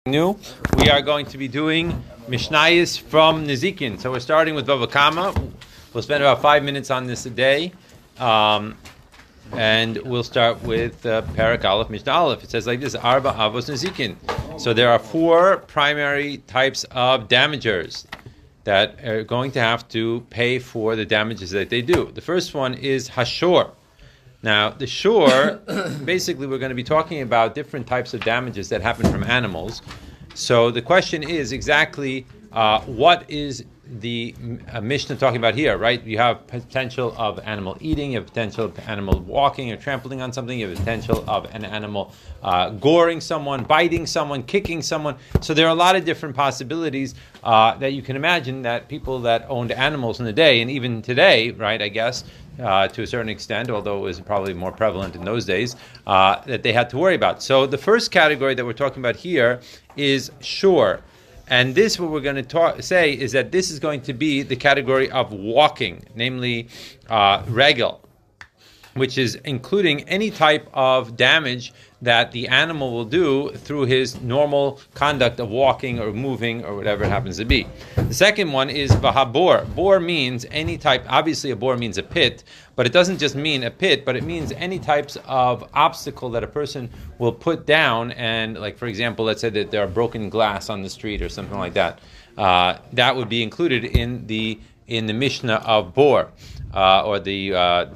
New. We are going to be doing Mishnayos from Nezikin. So we're starting with Bava Kama. We'll spend about 5 minutes on this a day. And we'll start with Parak Aleph, Mishnah Aleph. It says like this, Arba Avos Nezikin. So there are 4 primary types of damagers that are going to have to pay for the damages that they do. The first one is Hashor. Now, the shore, basically we're going to be talking about different types of damages that happen from animals. So the question is exactly what is the Mishnah talking about here, right? You have potential of animal eating, you have potential of animal walking or trampling on something, you have potential of an animal goring someone, biting someone, kicking someone. So there are a lot of different possibilities that you can imagine that people that owned animals in the day, and even today, right, I guess, to a certain extent, although it was probably more prevalent in those days, that they had to worry about. So the first category that we're talking about here is shore. And this, what we're going to say, is that this is going to be the category of walking, namely regel, which is including any type of damage that the animal will do through his normal conduct of walking or moving or whatever it happens to be. The second one is vahabor. Bor means any type, obviously a bor means a pit, but it doesn't just mean a pit, but it means any types of obstacle that a person will put down. And like, for example, let's say that there are broken glass on the street or something like that. That would be included in the Mishnah of bor. Or the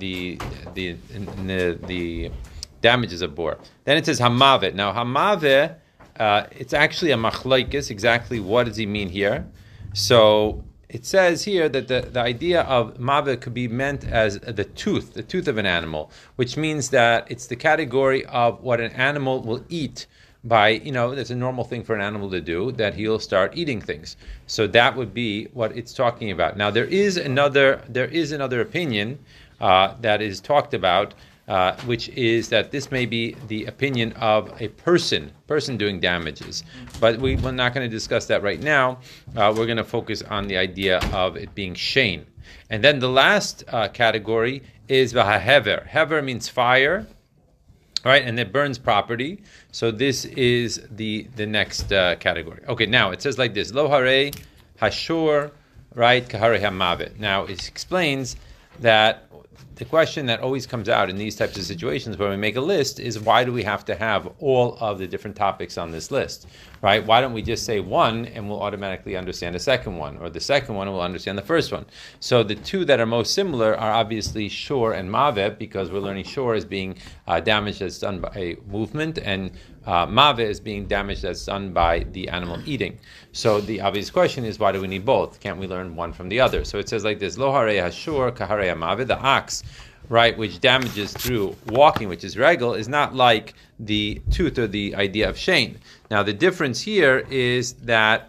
damages of bor. Then it says hamavet. Now hamavet, it's actually a machlokes. Exactly what does he mean here? So it says here that the idea of mavet could be meant as the tooth of an animal, which means that it's the category of what an animal will eat. By, that's a normal thing for an animal to do, that he'll start eating things. So that would be what it's talking about. Now there is another opinion that is talked about, which is that this may be the opinion of a person doing damages. But we're not going to discuss that right now. We're going to focus on the idea of it being shein. And then the last category is vahahever. Hever means fire. Right, and it burns property. So this is the next category. Okay, now it says like this: Lo hare hashur, right? Kahare hamavet. Now it explains that the question that always comes out in these types of situations when we make a list is, why do we have to have all of the different topics on this list, right? Why don't we just say one and we'll automatically understand the second one, or the second one and we'll understand the first one? So the two that are most similar are obviously shore and mavet, because we're learning shore as being damage that's done by movement, and mavet is being damage that's done by the animal eating. So the obvious question is, why do we need both? Can't we learn one from the other? So it says like this: Lo hare hashur kahare mavet. The ox, right, which damages through walking, which is regel, is not like the tooth or the idea of shein. Now the difference here is that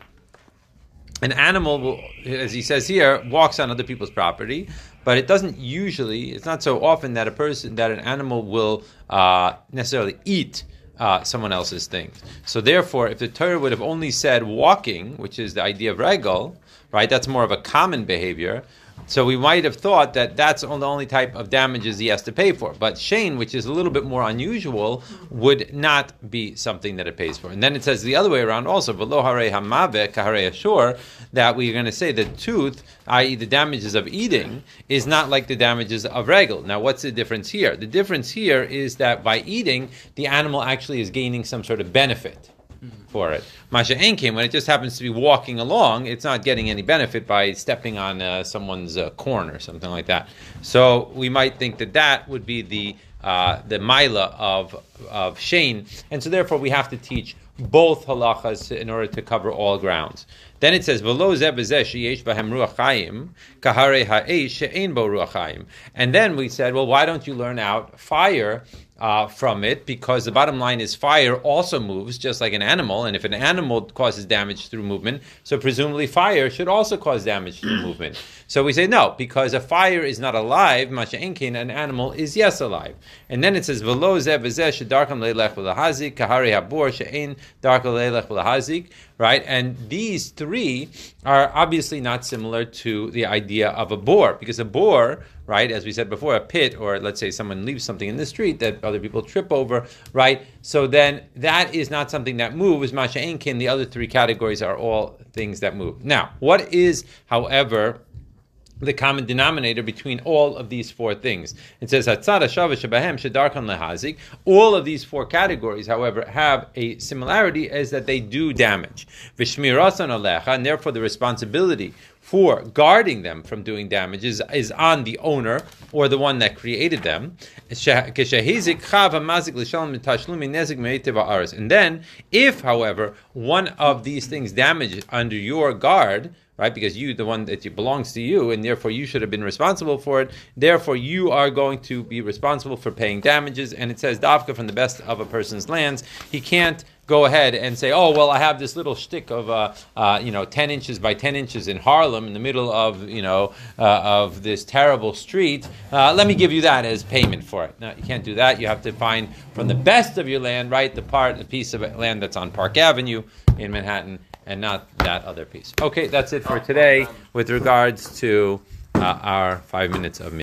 an animal will, as he says here, walks on other people's property, but it doesn't usually, it's not so often that an animal will necessarily eat someone else's things. So therefore, if the Torah would have only said walking, which is the idea of regel, right, that's more of a common behavior. So we might have thought that that's the only type of damages he has to pay for. But shein, which is a little bit more unusual, would not be something that it pays for. And then it says the other way around also, v'lo hare hamave kahare ashur, that we're going to say the tooth, i.e. the damages of eating, is not like the damages of regel. Now what's the difference here? The difference here is that by eating, the animal actually is gaining some sort of benefit for it. Masha Enkim, when it just happens to be walking along, it's not getting any benefit by stepping on someone's corn or something like that. So we might think that would be the maila of shein, and so therefore we have to teach both halachas in order to cover all grounds. Then it says, "V'lo zeh b'zeh sheyesh b'hem ruach chayim, kahare ha'esh she'ein bo ruach chayim." And then we said, well, why don't you learn out fire from it? Because the bottom line is fire also moves just like an animal, and if an animal causes damage through movement, so presumably fire should also cause damage through movement. So we say no, because a fire is not alive, masha enkin, an animal is yes alive. And then it says, "V'lo zeh b'zeh she'darkam leilech v'lahazik, kahare habor she'ein darkam leilech v'lahazik." Right, and these three are obviously not similar to the idea of a boar, because a boar, right? As we said before, a pit, or let's say someone leaves something in the street that other people trip over, right? So then that is not something that moves. Masha Einkin, the other three categories are all things that move. Now, what is, however, the common denominator between all of these four things? It says all of these four categories, however, have a similarity, is that they do damage. And therefore the responsibility for guarding them from doing damage is on the owner or the one that created them. And then, if, however, one of these things damages under your guard, right, because the one that belongs to you, and therefore you should have been responsible for it, therefore you are going to be responsible for paying damages. And it says, Davka, from the best of a person's lands, he can't go ahead and say, oh, well, I have this little shtick of 10 inches by 10 inches in Harlem in the middle of of this terrible street. Let me give you that as payment for it. No, you can't do that. You have to find from the best of your land, right, the piece of land that's on Park Avenue in Manhattan, and not that other piece. Okay, that's it for today with regards to our 5 minutes of